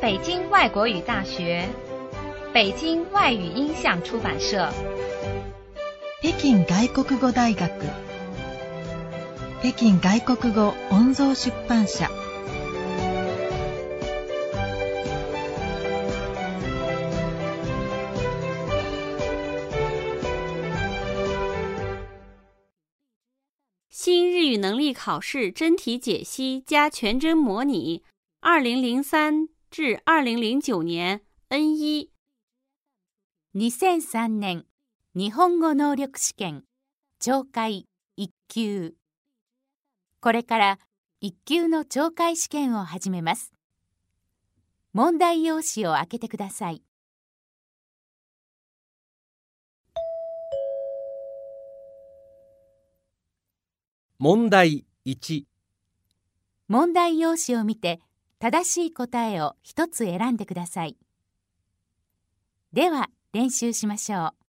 北京外国语大学、北京外语音像出版社、 北京外国語大学、北京外国語音像出版社。 新日语能力考试真题解析加全真模拟2003至2009年 N1 2003年日本語能力試験懲戒1級。これから1級の懲戒試験を始めます。問題用紙を開けてください。 問題1。 問題用紙を見て正しい答えを一つ選んでください。では練習しましょう。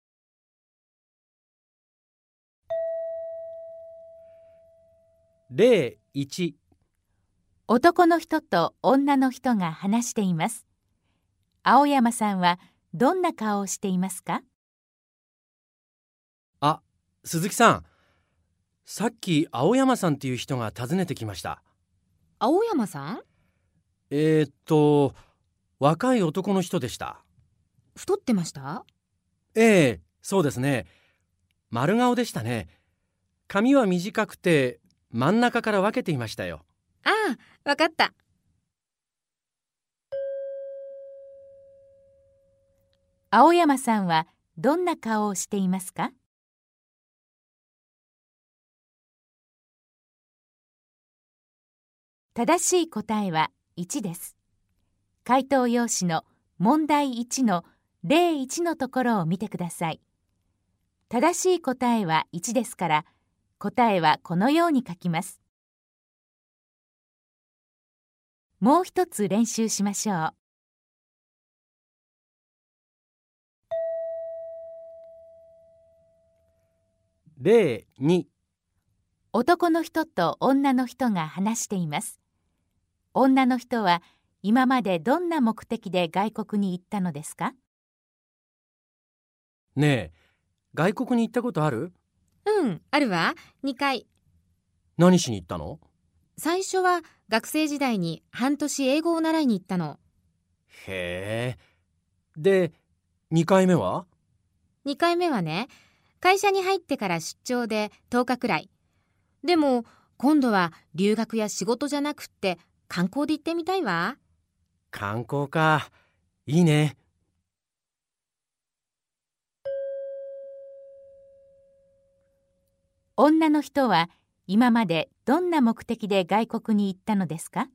例1。 男の人と女の人が話しています。青山さんはどんな顔をしていますか？ あ、鈴木さん。さっき青山さんっていう人が訪ねてきました。 青山さん？ 若い男の人でした。 太ってました？ ええ、そうですね。丸顔でしたね。髪は短くて真ん中から分けていましたよ。 ああ、わかった。 青山さんはどんな顔をしていますか？正しい答えは1です。回答用紙の問題1の例1のところを見てください。正しい答えは1ですから、答えはこのように書きます。もう一つ練習しましょう。 例2。 男の人と女の人が話しています。女の人は今までどんな目的で外国に行ったのですか？ ねえ、外国に行ったことある？ うん、あるわ。2回。 何しに行ったの？ 最初は学生時代に半年英語を習いに行ったの。 へえ。で、2回目は？ 2回目はね、会社に入ってから出張で10日くらい。でも今度は留学や仕事じゃなくって観光で行ってみたいわ。 観光か。いいね。 女の人は今までどんな目的で外国に行ったのですか？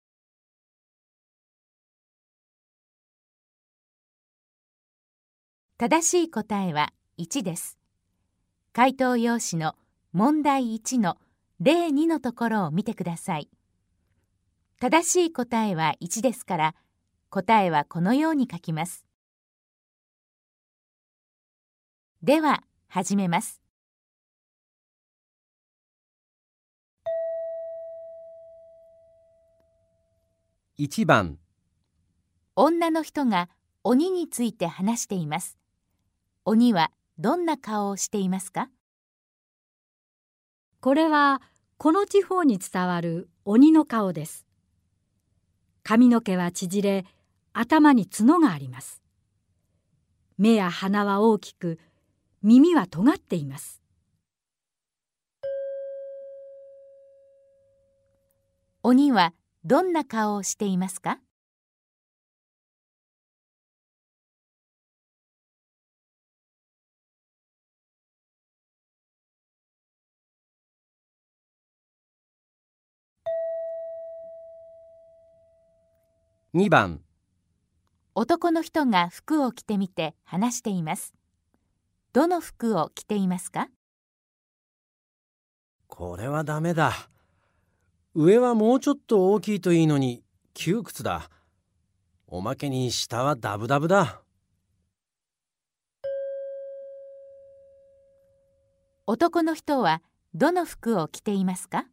正しい答えは1です。回答用紙の問題1の例2のところを見てください。正しい答えは1ですから、答えはこのように書きます。では、始めます。 1番。 女の人が鬼について話しています。鬼はどんな顔をしていますか？ これはこの地方に伝わる鬼の顔です。髪の毛は縮れ、頭に角があります。目や鼻は大きく、耳は尖っています。 鬼はどんな顔をしていますか？ 2番。 男の人が服を着てみて話しています。どの服を着ていますか？ これはダメだ。上はもうちょっと大きいといいのに窮屈だ。おまけに下はダブダブだ。 男の人はどの服を着ていますか？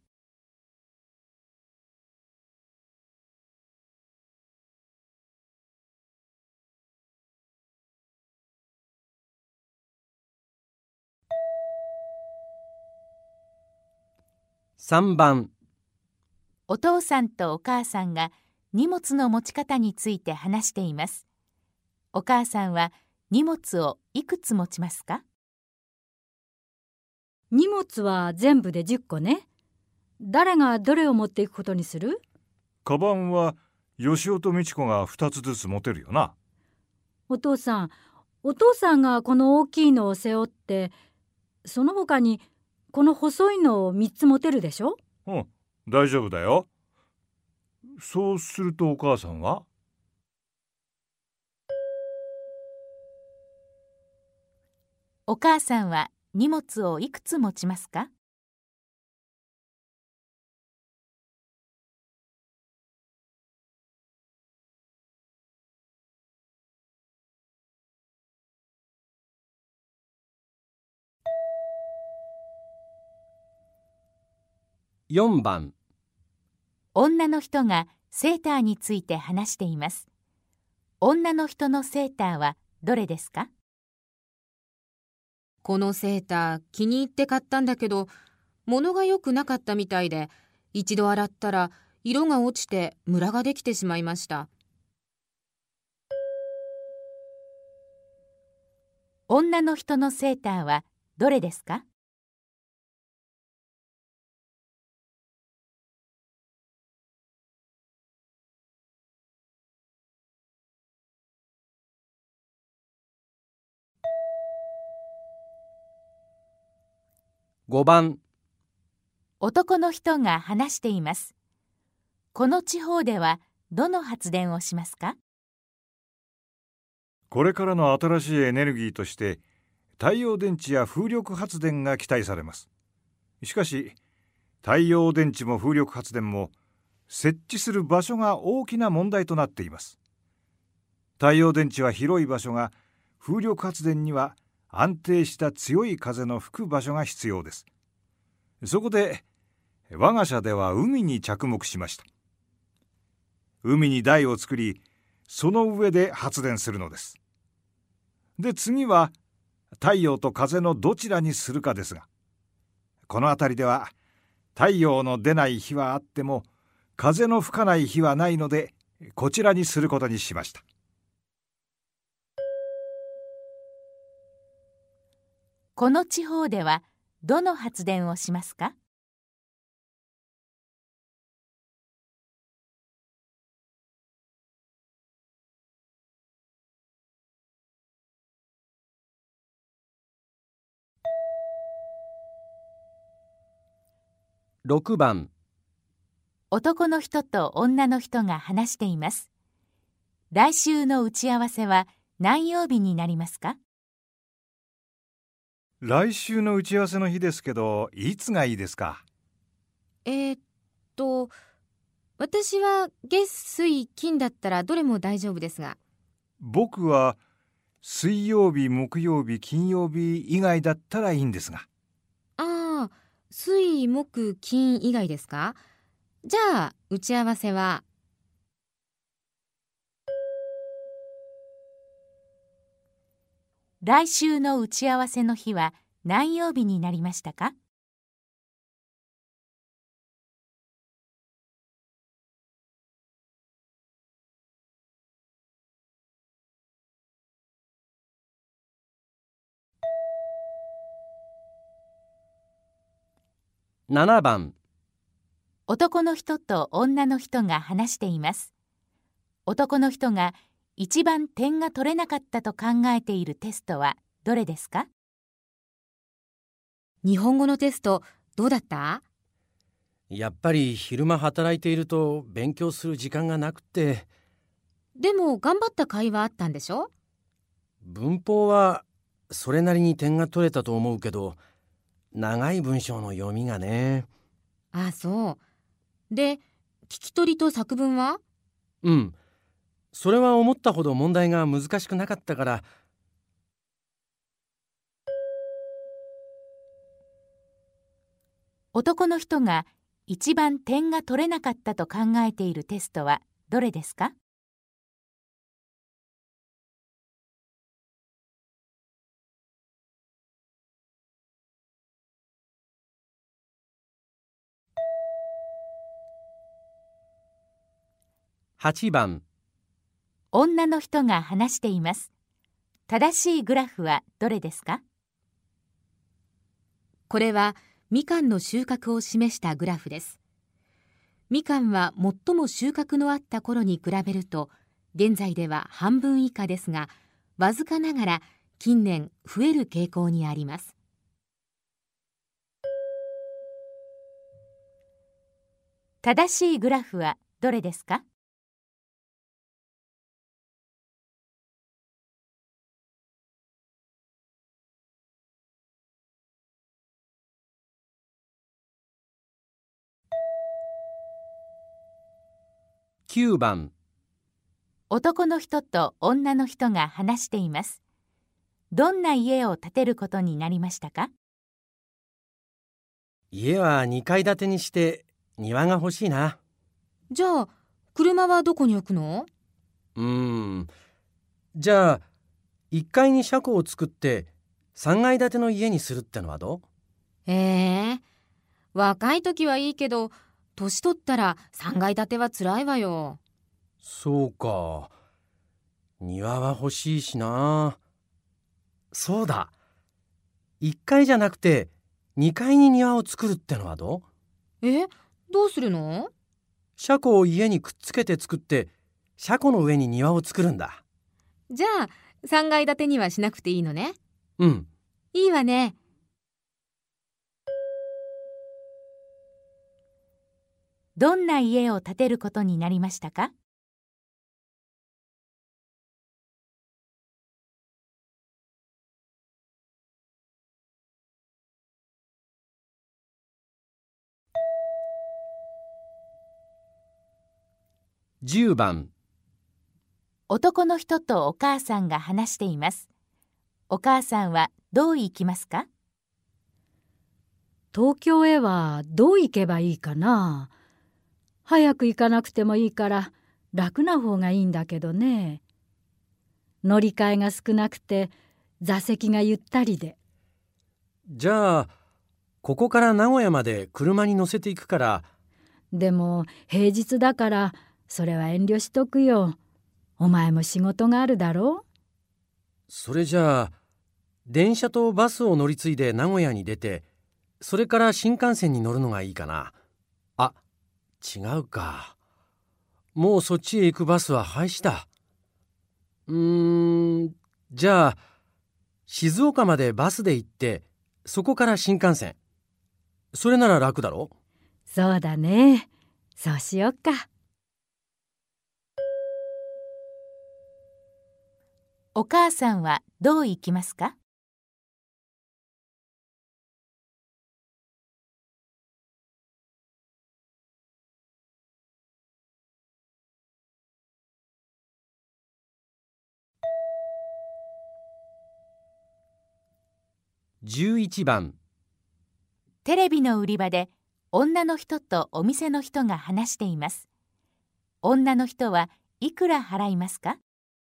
3番、 お父さんとお母さんが荷物の持ち方について話しています。お母さんは荷物をいくつ持ちますか？ 荷物は全部で10個ね。誰がどれを持っていくことにする？ カバンはよしおとみちこが2つずつ持てるよな。 お父さんがこの大きいのを背負って、その他にこの細いのを3つ持てるでしょ？ うん、大丈夫だよ。そうするとお母さんは？ お母さんは荷物をいくつ持ちますか？ 4番、 女の人がセーターについて話しています。女の人のセーターはどれですか？ このセーター気に入って買ったんだけど、物が良くなかったみたいで、一度洗ったら色が落ちてムラができてしまいました。 女の人のセーターはどれですか？ 5番、 男の人が話しています。この地方ではどの発電をしますか？ これからの新しいエネルギーとして太陽電池や風力発電が期待されます。しかし太陽電池も風力発電も設置する場所が大きな問題となっています。太陽電池は広い場所が、風力発電には安定した強い風の吹く場所が必要です。そこで我が社では海に着目しました。海に台を作り、その上で発電するのです。で、次は太陽と風のどちらにするかですが、この辺りでは太陽の出ない日はあっても風の吹かない日はないので、こちらにすることにしました。 この地方ではどの発電をしますか？ 6番、 男の人と女の人が話しています。来週の打ち合わせは何曜日になりますか？ 来週の打ち合わせの日ですけど、いつがいいですか？ 私は月水金だったらどれも大丈夫ですが。 僕は水曜日、木曜日、金曜日以外だったらいいんですが。 ああ、水木金以外ですか？じゃあ打ち合わせは。 来週の打ち合わせの日は何曜日になりましたか？ 7番、 男の人と女の人が話しています。男の人が一番点が取れなかったと考えているテストはどれですか？ 日本語のテストどうだった？ やっぱり昼間働いていると勉強する時間がなくて。 でも頑張った甲斐はあったんでしょ？ 文法はそれなりに点が取れたと思うけど、長い文章の読みがね。 ああ、そう。で、聞き取りと作文は？ うん、それは思ったほど問題が難しくなかったから。 男の人が一番点が取れなかったと考えているテストはどれですか？ 8番、 女の人が話しています。正しいグラフはどれですか？ これはみかんの収穫を示したグラフです。みかんは最も収穫のあった頃に比べると、現在では半分以下ですが、わずかながら近年増える傾向にあります。 正しいグラフはどれですか？ 9番、 男の人と女の人が話しています。どんな家を建てることになりましたか？ 家は2階建てにして庭が欲しいな。 じゃあ、車はどこに置くの？ じゃあ1階に車庫を作って3階建ての家にするってのはどう？ 若い時はいいけど、年取ったら3階建てはつらいわよ。 そうか。庭は欲しいしな。そうだ。1階じゃなくて2階に庭を作るってのはどう？ どうするの？ 車庫を家にくっつけて作って、車庫の上に庭を作るんだ。 じゃあ、3階建てにはしなくていいのね。 うん。 いいわね。 どんな家を建てることになりましたか？ 10番、 男の人とお母さんが話しています。お母さんはどう行きますか？ 東京へはどう行けばいいかな。早く行かなくてもいいから楽な方がいいんだけどね。乗り換えが少なくて座席がゆったりで。 じゃあここから名古屋まで車に乗せていくから。 でも平日だからそれは遠慮しとくよ。お前も仕事があるだろう。 それじゃあ電車とバスを乗り継いで名古屋に出て、それから新幹線に乗るのがいいかな。あ、違うか。もうそっちへ行くバスは廃止だ。じゃあ静岡までバスで行って、そこから新幹線。それなら楽だろ？ そうだね。そうしよっか。 お母さんはどう行きますか？ 11番、 テレビの売り場で女の人とお店の人が話しています。女の人はいくら払いますか？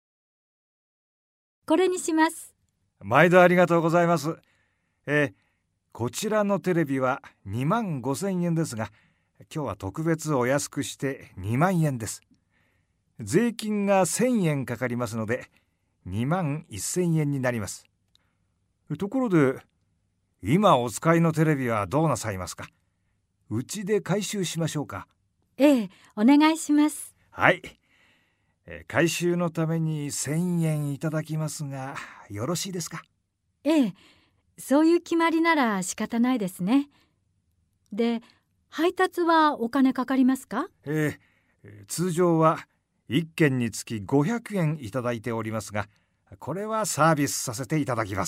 これにします。 毎度ありがとうございます。こちらのテレビは25,000円ですが、今日は特別お安くして2万円です。税金が1,000円かかりますので21,000円になります。ところで、今お使いのテレビはどうなさいますか？うちで回収しましょうか？ ええ、お願いします。 はい。回収のために1,000円いただきますが、よろしいですか？ ええ、そういう決まりなら仕方ないですね。で、配達はお金かかりますか？ 通常は1件につき500円いただいておりますが、これはサービスさせていただきます。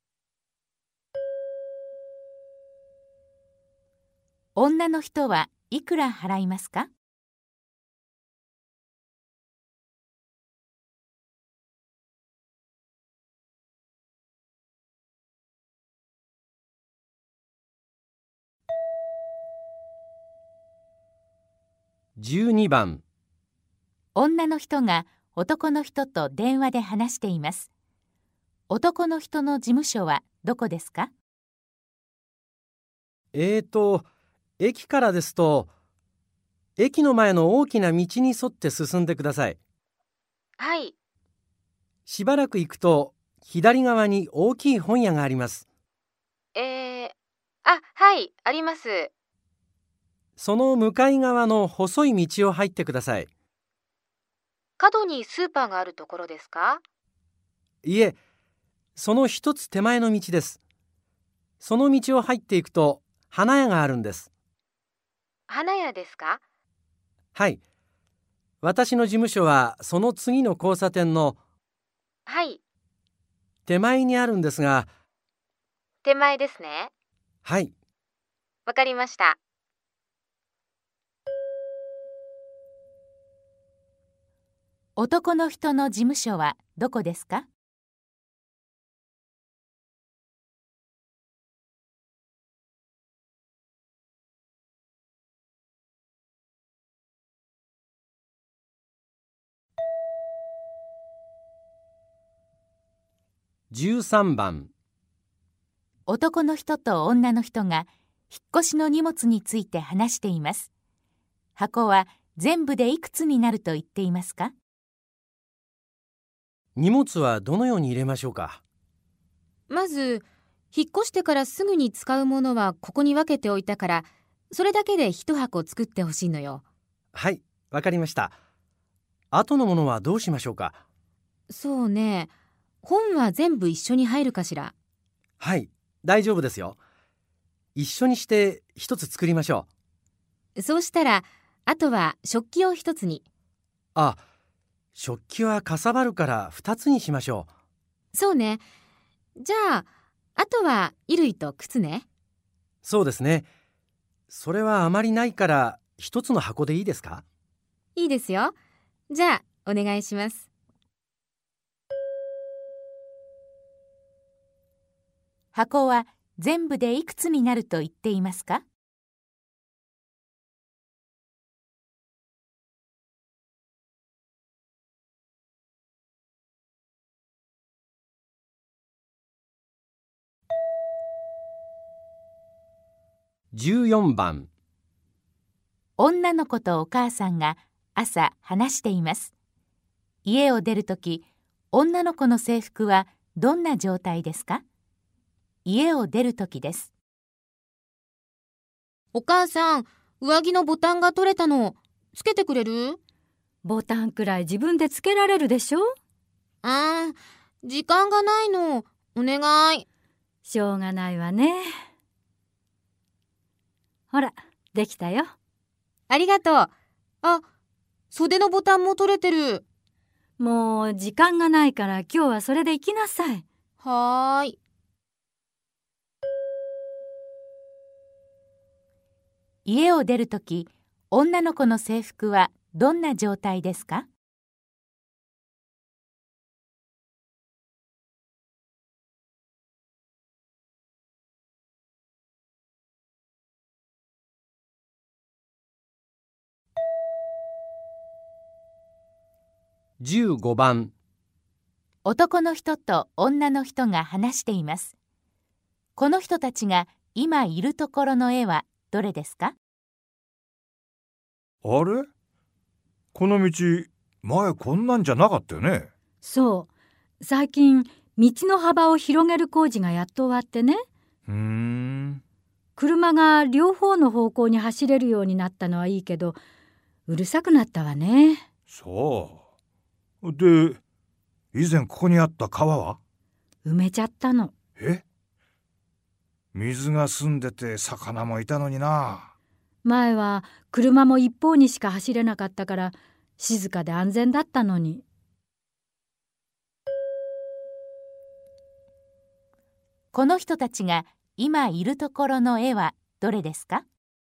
女の人はいくら払いますか？ 12番、 女の人が男の人と電話で話しています。男の人の事務所はどこですか？ 駅からですと、 駅の前の大きな道に沿って進んでください。 はい。 しばらく行くと左側に大きい本屋があります。 はい、あります。 その向かい側の細い道を入ってください。 角にスーパーがあるところですか？ いえ、その一つ手前の道です。その道を入っていくと花屋があるんです。 花屋ですか？ はい。私の事務所はその次の交差点のはい。 手前にあるんですが。 手前ですね。 はい。 わかりました。 男の人の事務所はどこですか ？13番。 男の人と女の人が引っ越しの荷物について話しています。箱は全部でいくつになると言っていますか？ 荷物はどのように入れましょうか？ まず、引っ越してからすぐに使うものはここに分けておいたから、それだけで一箱作ってほしいのよ。 はい、わかりました。後のものはどうしましょうか？ そうね。本は全部一緒に入るかしら。 はい、大丈夫ですよ。一緒にして一つ作りましょそうしたら、あとは食器を一つに。 う。食器はかさばるから2つにしましょう。そうね。じゃあ、あとは衣類と靴ね。 そうですね。それはあまりないから一つの箱でいいですか？ いいですよ。じゃあ、お願いします。 箱は全部でいくつになると言っていますか？ 14番。 女の子とお母さんが朝話しています。家を出るとき、女の子の制服はどんな状態ですか？家を出るときです。 お母さん、上着のボタンが取れたの。つけてくれる？ ボタンくらい自分でつけられるでしょ？ 時間がないの。お願い。 しょうがないわね。ほら、できたよ。 ありがとう。袖のボタンも取れてる。 もう時間がないから今日はそれで行きなさい。 はーい。 家を出るとき、女の子の制服はどんな状態ですか？ 15番。 男の人と女の人が話しています。この人たちが今いるところの絵はどれですか？ あれ？この道、前こんなんじゃなかったよね。 そう。最近、道の幅を広げる工事がやっと終わってね。車が両方の方向に走れるようになったのはいいけど、うるさくなったわね。 そう。で、以前ここにあった川は？ 埋めちゃったの。 水が澄んでて魚もいたのにな。 前は車も一方にしか走れなかったから静かで安全だったのに。 この人たちが今いるところの絵はどれですか？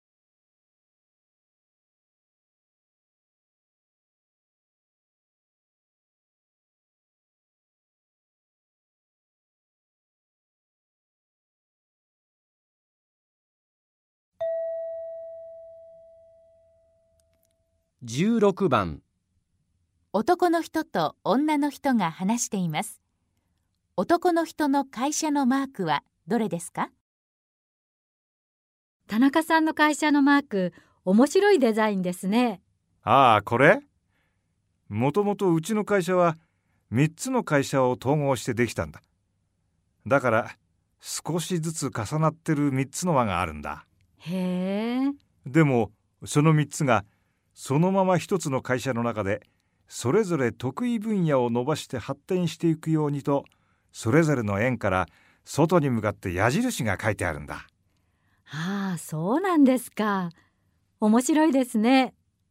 16番。 男の人と女の人が話しています。男の人の会社のマークはどれですか？ 田中さんの会社のマーク、 面白いデザインですね。 ああ、これ？もともとうちの会社は3つの会社を統合してできたんだ。だから少しずつ重なってる3つの輪があるんだ。 へえ。 でもその3つがそのまま1つの会社の中でそれぞれ得意分野を伸ばして発展していくようにと、それぞれの円から外に向かって矢印が書いてあるんだ。 ああ、そうなんですか。面白いですね。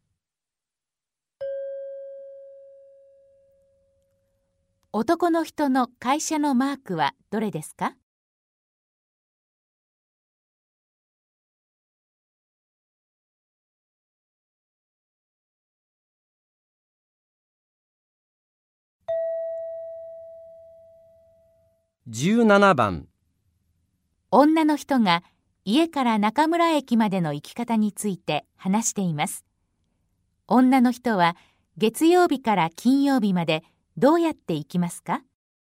男の人の会社のマークはどれですか？ 17番。 女の人が家から中村駅までの行き方について話しています。女の人は月曜日から金曜日までどうやって行きますか？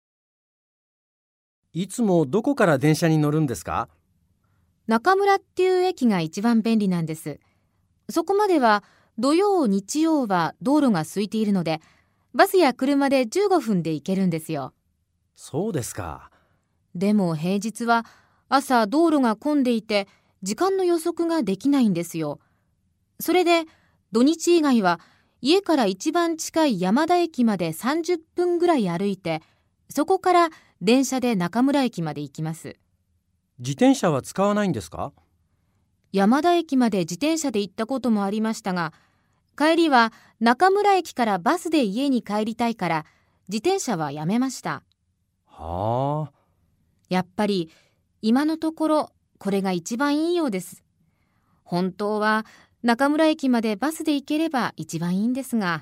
いつもどこから電車に乗るんですか？ 中村っていう駅が一番便利なんです。そこまでは土曜日曜は道路が空いているので、バスや車で15分で行けるんですよ。 そうですか。 でも平日は朝道路が混んでいて時間の予測ができないんですよ。それで土日以外は家から一番近い山田駅まで30分ぐらい歩いて、そこから電車で中村駅まで行きます。 自転車は使わないんですか？ 山田駅まで自転車で行ったこともありましたが、帰りは中村駅からバスで家に帰りたいから自転車はやめました。 はあ。 やっぱり今のところこれが一番いいようです。本当は中村駅までバスで行ければ一番いいんですが。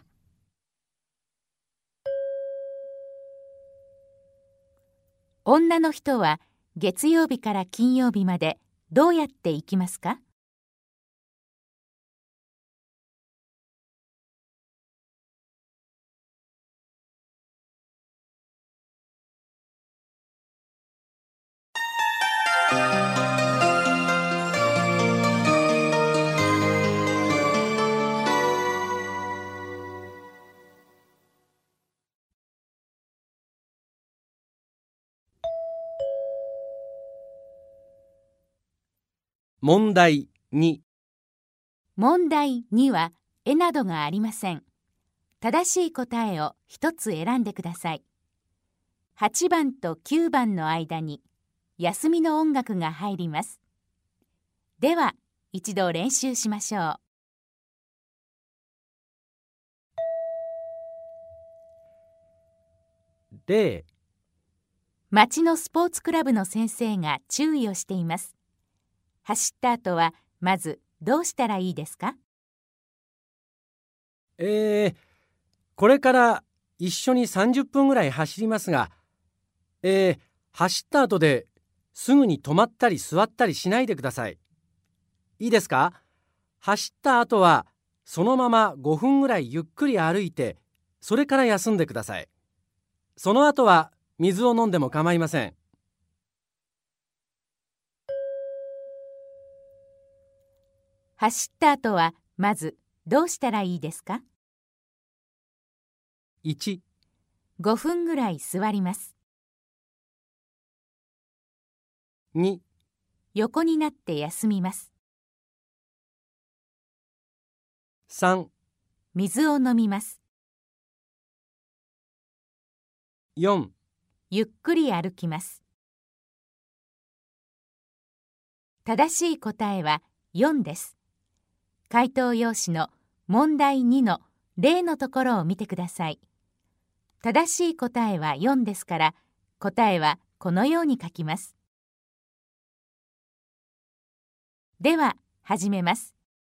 女の人は月曜日から金曜日までどうやって行きますか？ 問題2。 問題2は絵などがありません。正しい答えを一つ選んでください。8番と9番の間に休みの音楽が入ります。では一度練習しましょう。 例。 町のスポーツクラブの先生が注意をしています。走った後はまずどうしたらいいですか？ これから一緒に30分ぐらい走りますが、走った後ですぐに止まったり座ったりしないでください。いいですか？走った後はそのまま5分ぐらいゆっくり歩いて、それから休んでください。その後は水を飲んでも構いません。 走った後はまずどうしたらいいですか？ 1、 5分ぐらい座ります。 2、 横になって休みます。 3、 水を飲みます。 4、 ゆっくり歩きます。正しい答えは4です。回答用紙の問題2の例のところを見てください。正しい答えは4ですから、答えはこのように書きます。では、始めます。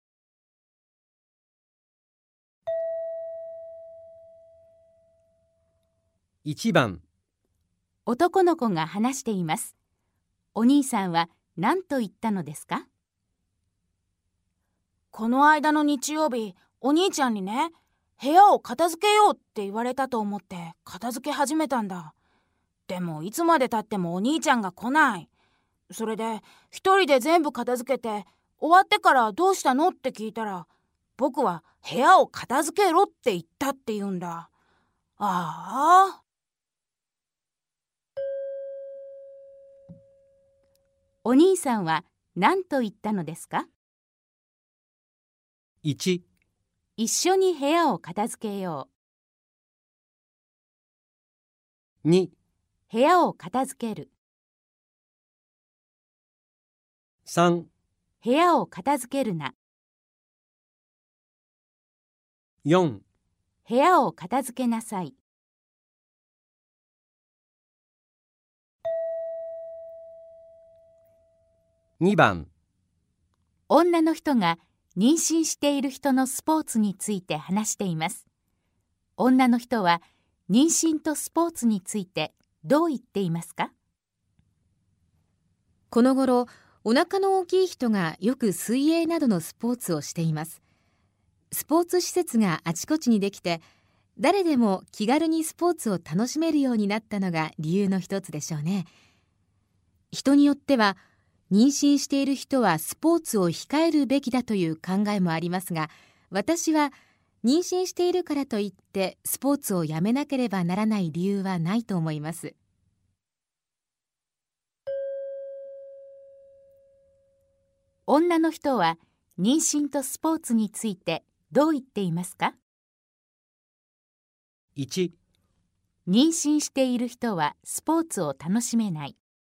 1番。 男の子が話しています。お兄さんは何と言ったのですか？ この間の日曜日、お兄ちゃんにね、部屋を片付けようって言われたと思って片付け始めたんだ。でもいつまで経ってもお兄ちゃんが来ない。それで一人で全部片付けて、 終わってからどうしたのって聞いたら、僕は部屋を片付けろって言ったって言うんだ。ああ。 お兄さんは何と言ったのですか？ 1、 一緒に部屋を片付けよ 2、 う。部屋を片付ける。 3、 部屋を片付けるな。 4、 部屋を片付けなさい。 2番、 女の人が妊娠している人のスポーツについて話しています。女の人は妊娠とスポーツについてどう言っていますか？ この頃、お腹の大きい人がよく水泳などのスポーツをしています。スポーツ施設があちこちにできて、誰でも気軽にスポーツを楽しめるようになったのが理由の一つでしょうね。人によっては、妊娠している人はスポーツを控えるべきだという考えもありますが、私は妊娠しているからといってスポーツをやめなければならない理由はないと思います。 女の人は妊娠とスポーツについてどう言っていますか？ 1、 妊娠している人はスポーツを楽しめない。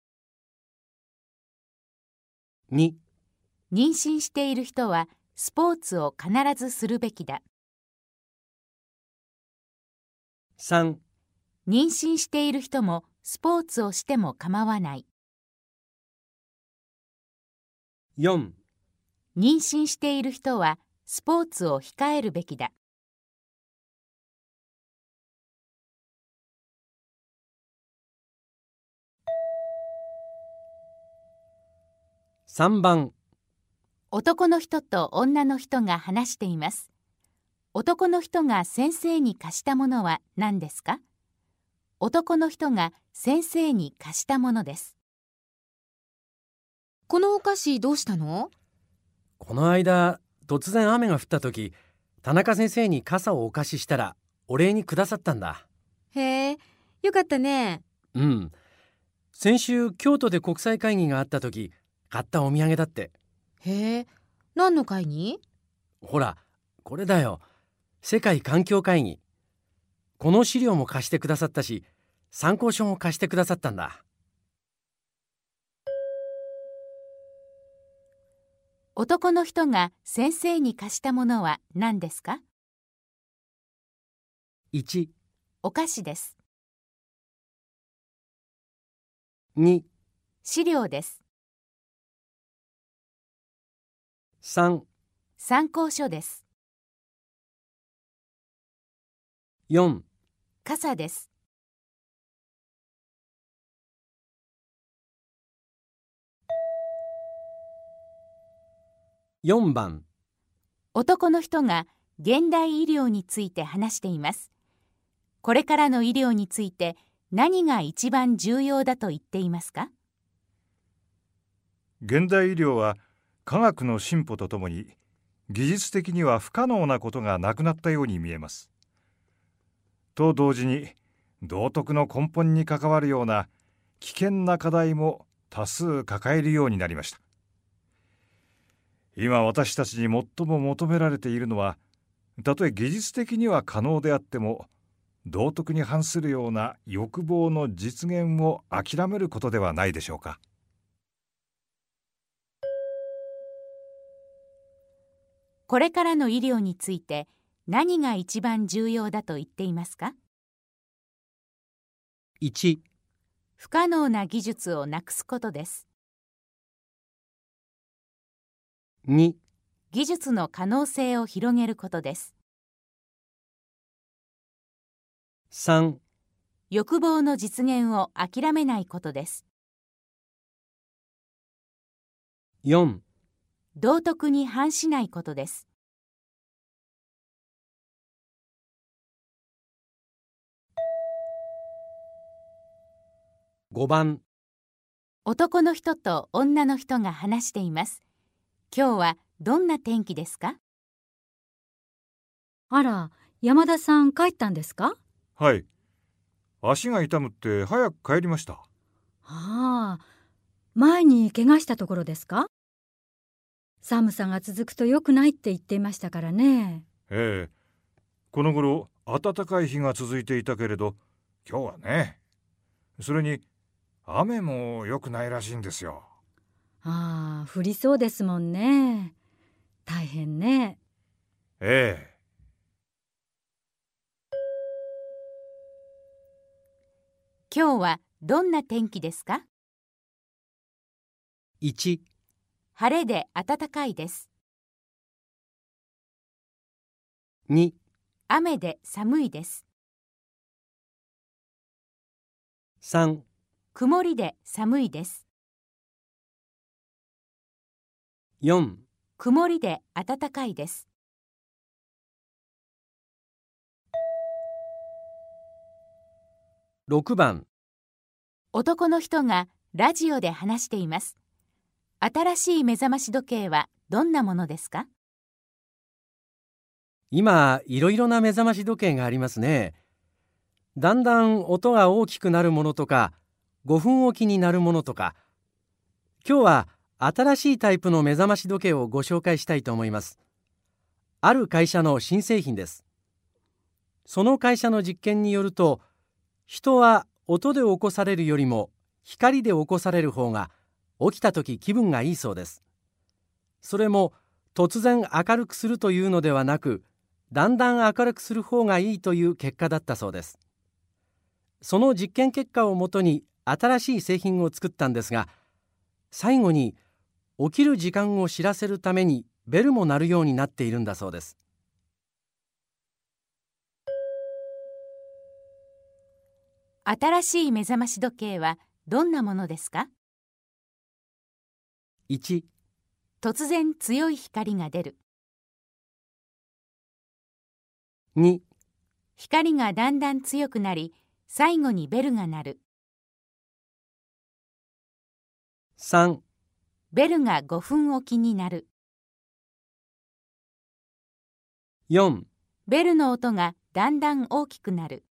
2、 妊娠している人はスポーツを必ずするべきだ。 3、 妊娠している人もスポーツをしても構わない。 4、 妊娠している人はスポーツを控えるべきだ。 3番、 男の人と女の人が話しています。男の人が先生に貸したものは何ですか？男の人が先生に貸したものです。 このお菓子どうしたの？ この間突然雨が降った時、田中先生に傘をお貸ししたらお礼にくださったんだ。 へえ、よかったね。 うん。先週京都で国際会議があった時買ったお土産だって。 へえ、何の会議？ ほらこれだよ、世界環境会議。この資料も貸してくださったし、参考書も貸してくださったんだ。 男の人が先生に貸したものは何ですか？ 1、 お菓子です。 2、 資料です。 3、 参考書です。 4、 傘です。 4番、 男の人が現代医療について話しています。これからの医療について何が一番重要だと言っていますか？ 現代医療は科学の進歩とともに技術的には不可能なことがなくなったように見えます。と同時に道徳の根本に関わるような危険な課題も多数抱えるようになりました。今私たちに最も求められているのは、たとえ技術的には可能であっても道徳に反するような欲望の実現を諦めることではないでしょうか。 これからの医療について何が一番重要だと言っていますか？ 1、 不可能な技術をなくすことです。 2、 技術の可能性を広げることです。 3、 欲望の実現を諦めないことです。 4、 道徳に反しないことです。 5番、 男の人と女の人が話しています。 今日はどんな天気ですか？ あら、山田さん帰ったんですか？ はい。足が痛むって早く帰りました。 ああ、前に怪我したところですか？寒さが続くと良くないって言っていましたからね。 ええ。この頃暖かい日が続いていたけれど、今日はね。それに雨も良くないらしいんですよ。 ああ、降りそうですもんね。大変ね。 ええ。 今日はどんな天気ですか？ 1、 晴れで暖かいです。 2、 雨で寒いです。 3、 曇りで寒いです。 4、 曇りで暖かいです。 6番。 男の人がラジオで話しています。新しい目覚まし時計はどんなものですか？ 今、いろいろな目覚まし時計がありますね。だんだん音が大きくなるものとか、5分おきになるものとか。今日は新しいタイプの目覚まし時計をご紹介したいと思います。ある会社の新製品です。その会社の実験によると、人は音で起こされるよりも光で起こされる方が起きたとき気分がいいそうです。それも突然明るくするというのではなく、だんだん明るくする方がいいという結果だったそうです。その実験結果をもとに新しい製品を作ったんですが、最後に起きる時間を知らせるためにベルも鳴るようになっているんだそうです。 新しい目覚まし時計はどんなものですか？ 1、 突然強い光が出る。 2、 光がだんだん強くなり、最後にベルが鳴る。 3、 ベルが5分おきに鳴る。 4、 ベルの音がだんだん大きくなる。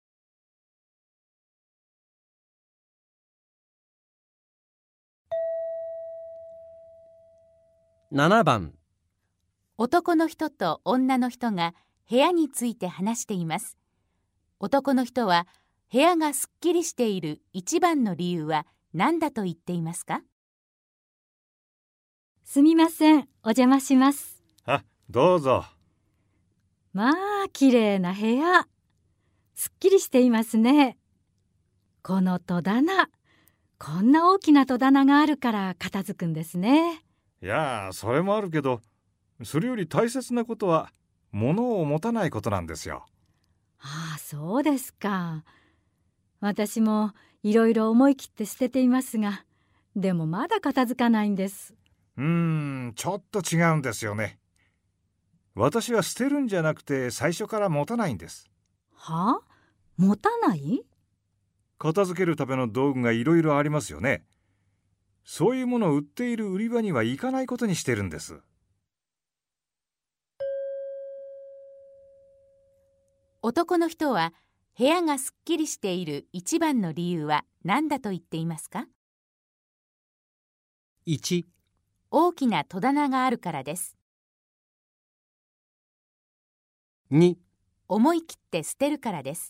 7番。 男の人と女の人が部屋について話しています。男の人は部屋がすっきりしている一番の理由は何だと言っていますか？ すみません、お邪魔します。 あ、どうぞ。 まあ、綺麗な部屋。すっきりしていますね。この戸棚。こんな大きな戸棚があるから片付くんですね。 いや、それもあるけど、それより大切なことは物を持たないことなんですよ。 ああ、そうですか。私もいろいろ思い切って捨てていますが、でもまだ片付かないんです。 ちょっと違うんですよね。私は捨てるんじゃなくて最初から持たないんです。 はあ？持たない？ 片付けるための道具がいろいろありますよね。そういうものを売っている売り場には行かないことにしてるんです。 男の人は部屋がすっきりしている一番の理由は何だと言っていますか？ 1、 大きな戸棚があるからです。 2、 思い切って捨てるからです。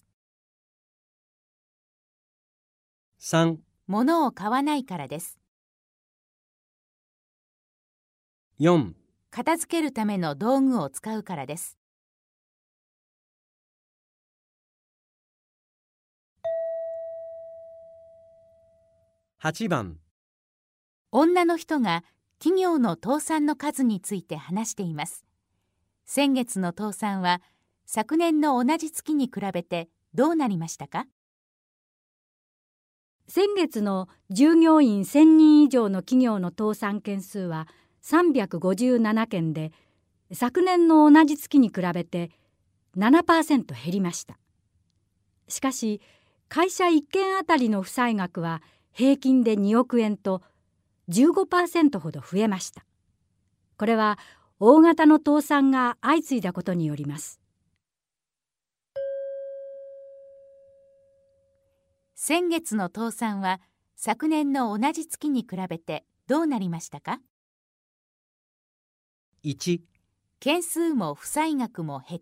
3、 物を買わないからです。 4、 片付けるための道具を使うからです。 8番。 女の人が企業の倒産の数について話しています。先月の倒産は昨年の同じ月に比べてどうなりましたか？ 先月の従業員1000人以上の企業の倒産件数は357件で、昨年の同じ月に比べて 7% 減りました。しかし、会社1件あたりの負債額は平均で2億円と 15% ほど増えました。 これは大型の倒産が相次いだことによります。 先月の倒産は昨年の同じ月に比べてどうなりましたか？ 1、 件数も負債額も減った。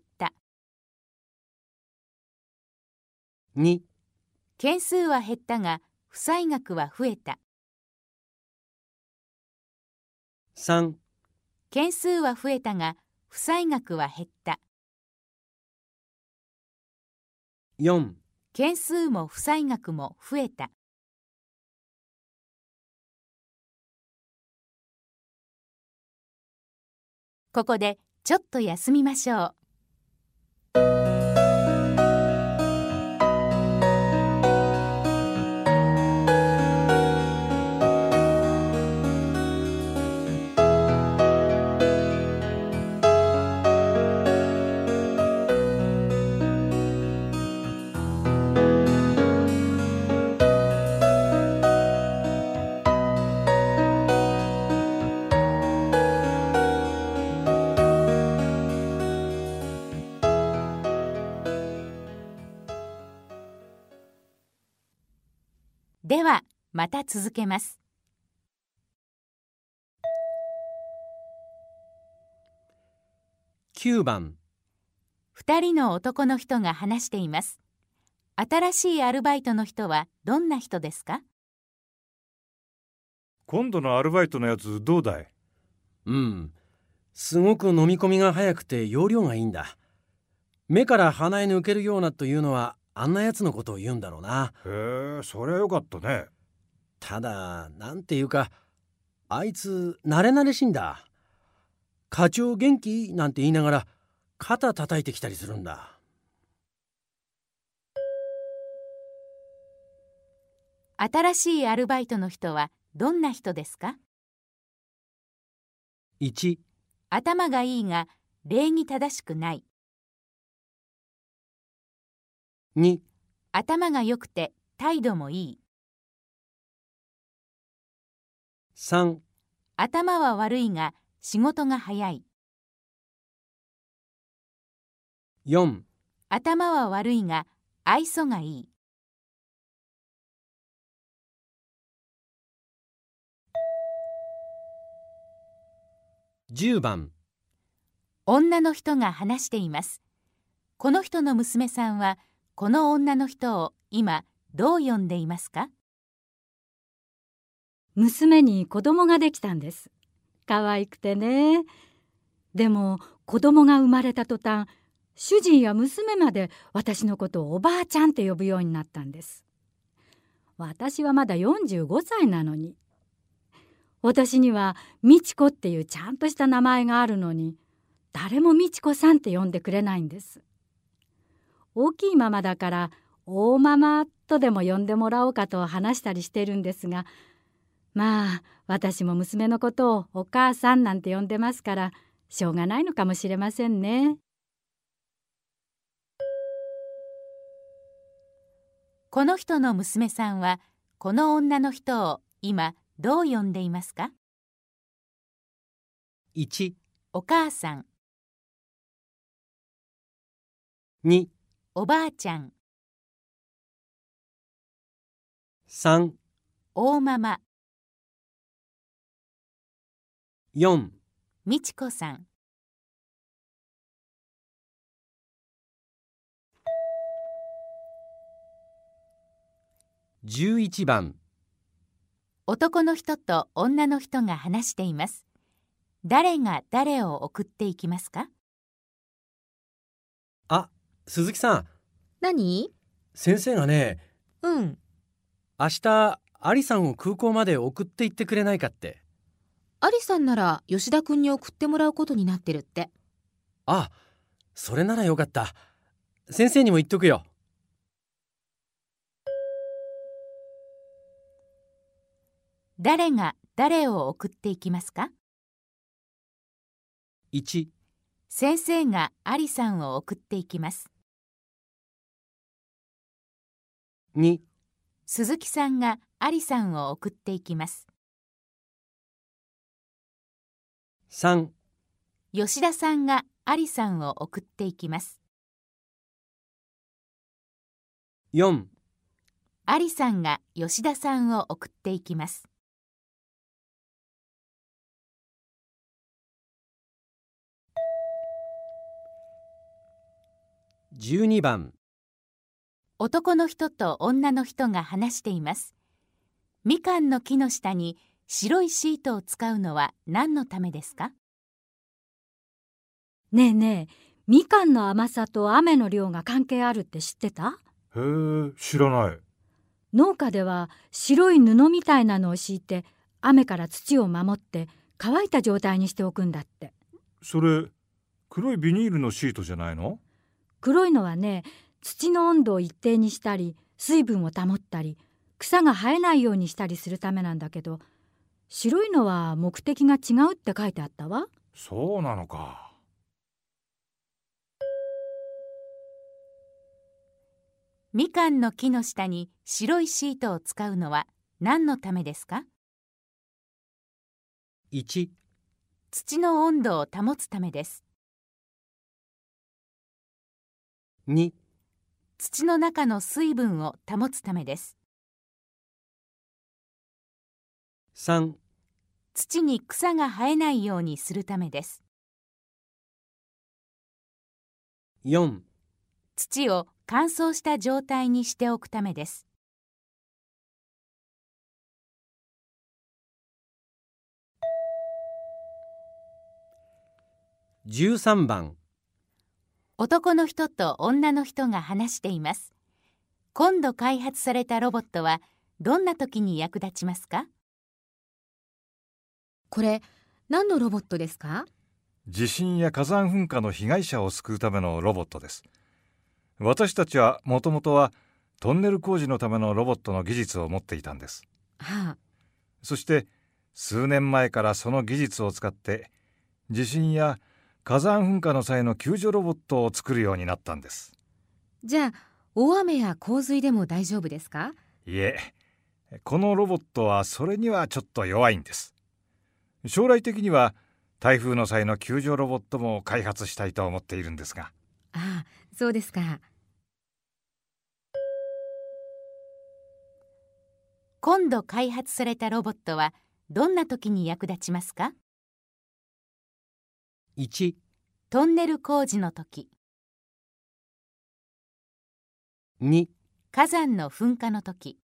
2、 件数は減ったが負債額は増えた。 3、 件数は増えたが負債額は減った。 4、 件数も負債額も増えた。ここでちょっと休みましょう。ではまた続けます。 9番。 2人の男の人が話しています。新しいアルバイトの人はどんな人ですか？ 今度のアルバイトのやつどうだい？ すごく飲み込みが早くて容量がいいんだ。目から鼻へ抜けるようなというのはあんなやつのことを言うんだろうな。 へえ、そりゃよかったね。 ただなんていうかあいつ慣れ慣れしいんだ。課長元気なんて言いながら肩叩いてきたりするんだ。 新しいアルバイトの人はどんな人ですか？ 1、 頭がいいが礼儀正しくない。 2、 頭が良くて態度もいい。 3、 頭は悪いが仕事が早い。 4、 頭は悪いが愛想がいい。 10番。 女の人が話しています。この人の娘さんはこの女の人を今どう呼んでいますか？ 娘に子供ができたんです。可愛くてね。でも子供が生まれた途端、主人や娘まで私のことをおばあちゃんって呼ぶようになったんです。私はまだ45歳なのに。私には美智子っていうちゃんとした名前があるのに、誰も美智子さんって呼んでくれないんです。大きいママだから大ママとでも呼んでもらおうかと話したりしてるんですが、まあ私も娘のことをお母さんなんて呼んでますからしょうがないのかもしれませんね。 この人の娘さんはこの女の人を今どう呼んでいますか？ 1、 お母さん。 2、 おばあちゃん。 3、 大ママ。 4、 美智子さん。 11番。 男の人と女の人が話しています。誰が誰を送っていきますか？ あ、鈴木さん。 何？ 先生がね、 うん。 明日アリさんを空港まで送って行ってくれないかって。 アリさんなら吉田君に送ってもらうことになってるって。 あ、それならよかった。先生にも言っとくよ。 誰が誰を送っていきますか？ 1、 先生がアリさんを送っていきます。 2、 鈴木さんがアリさんを送っていきます。 3、 吉田さんがアリさんを送っていきます。 4、 アリさんが吉田さんを送っていきます。 12番。 男の人と女の人が話しています。みかんの木の下に白いシートを使うのは何のためですか？ ねえねえ、みかんの甘さと雨の量が関係あるって知ってた？ へえ、知らない。 農家では白い布みたいなのを敷いて雨から土を守って乾いた状態にしておくんだって。 それ、黒いビニールのシートじゃないの？ 黒いのはね、土の温度を一定にしたり水分を保ったり草が生えないようにしたりするためなんだけど、白いのは目的が違うって書いてあったわ。 そうなのか。 みかんの木の下に白いシートを使うのは何のためですか？ 1、 土の温度を保つためです。 2、 土の中の水分を保つためです。 3、 土に草が生えないようにするためです。 4、 土を乾燥した状態にしておくためです。 13番。 男の人と女の人が話しています。今度開発されたロボットはどんな時に役立ちますか？ これ、何のロボットですか？ 地震や火山噴火の被害者を救うためのロボットです。私たちはもともとはトンネル工事のためのロボットの技術を持っていたんです。 はあ、 そして数年前からその技術を使って地震や火山噴火の際の救助ロボットを作るようになったんです。 じゃあ、大雨や洪水でも大丈夫ですか？ いえ、このロボットはそれにはちょっと弱いんです。将来的には台風の際の救助ロボットも開発したいと思っているんですが。 ああ、そうですか。 今度開発されたロボットはどんな時に役立ちますか？ 1、 トンネル工事の時、 2、 火山の噴火の時、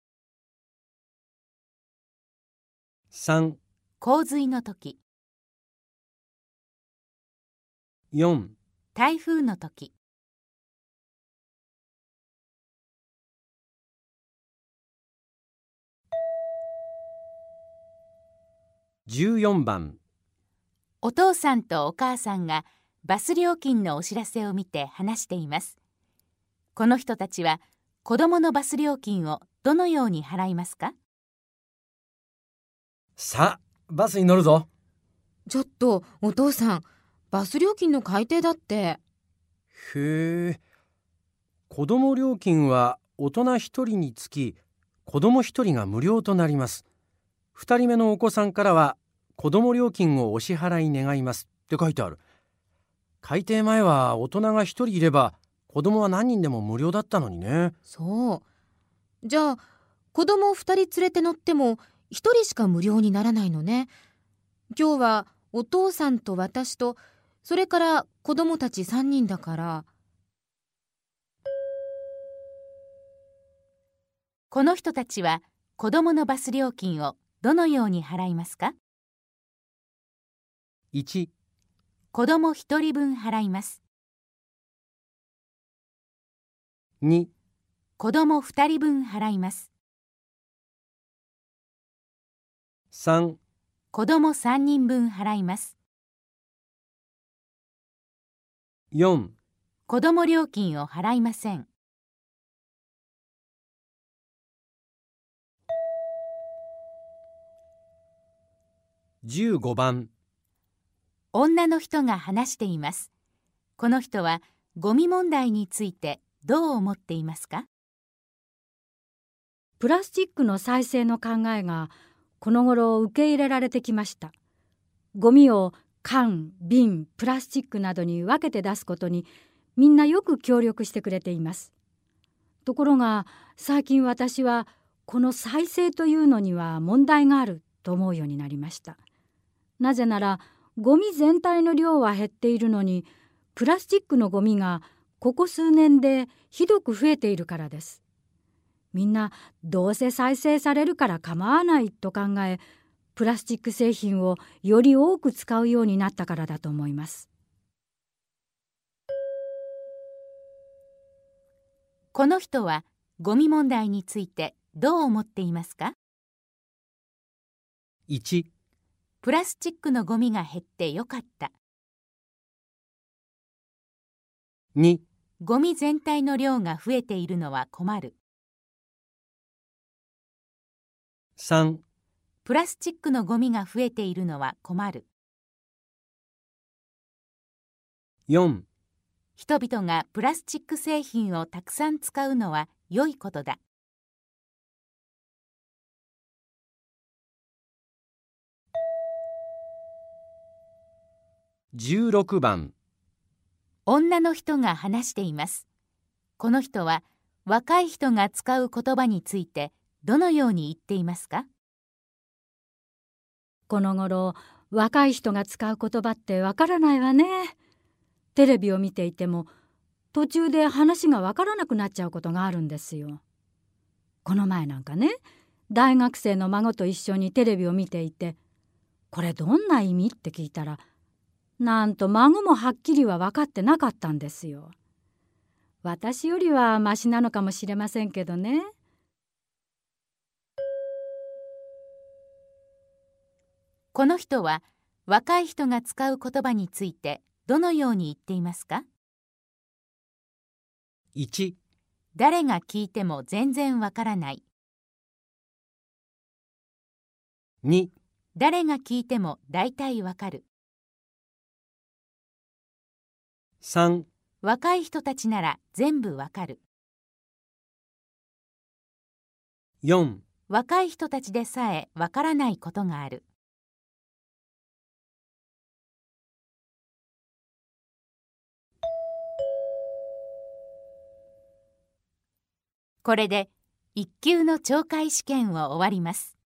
3、 洪水の時、 4、 台風の時。 14番。 お父さんとお母さんがバス料金のお知らせを見て話しています。この人たちは子供のバス料金をどのように払いますか？ さあ、バスに乗るぞ。 ちょっと、お父さん、バス料金の改定だって。 へえ。子供料金は大人1人につき子供1人が無料となります。2人目のお子さんからは子供料金をお支払い願いますって書いてある。改定前は大人が1人いれば子供は何人でも無料だったのにね。 そう。じゃあ、子供2人連れて乗っても1人しか無料にならないのね。今日はお父さんと私と、それから子供たち3人だから。 この人たちは子供のバス料金をどのように払いますか？ 1、 子供1人分払います。 2、 子供2人分払います。 3、 子供3人分払います。 4、 子供料金を払いません。 15番。 女の人が話しています。この人はゴミ問題についてどう思っていますか？ プラスチックの再生の考えがこの頃受け入れられてきました。ゴミを缶、瓶、プラスチックなどに分けて出すことにみんなよく協力してくれています。ところが最近私はこの再生というのには問題があると思うようになりました。なぜならゴミ全体の量は減っているのにプラスチックのゴミがここ数年でひどく増えているからです。みんなどうせ再生されるから構わないと考え、プラスチック製品をより多く使うようになったからだと思います。 この人はゴミ問題についてどう思っていますか？ 1、 プラスチックのゴミが減ってよかった。 2、 ゴミ全体の量が増えているのは困る。 3、 プラスチックのゴミが増えているのは困る。 4、 人々がプラスチック製品をたくさん使うのは良いことだ。 16番。 女の人が話しています。この人は若い人が使う言葉についてどのように言っていますか？ この頃若い人が使う言葉ってわからないわね。テレビを見ていても途中で話がわからなくなっちゃうことがあるんですよ。この前なんかね、大学生の孫と一緒にテレビを見ていて、これどんな意味って聞いたら、なんと孫もはっきりは分かってなかったんですよ。私よりはマシなのかもしれませんけどね。 この人は若い人が使う言葉についてどのように言っていますか？ 1、 誰が聞いても全然わからない。 2、 誰が聞いても大体わかる。 3、 若い人たちなら全部わかる。 4、 若い人たちでさえわからないことがある。これで1級の懲戒試験を終わります。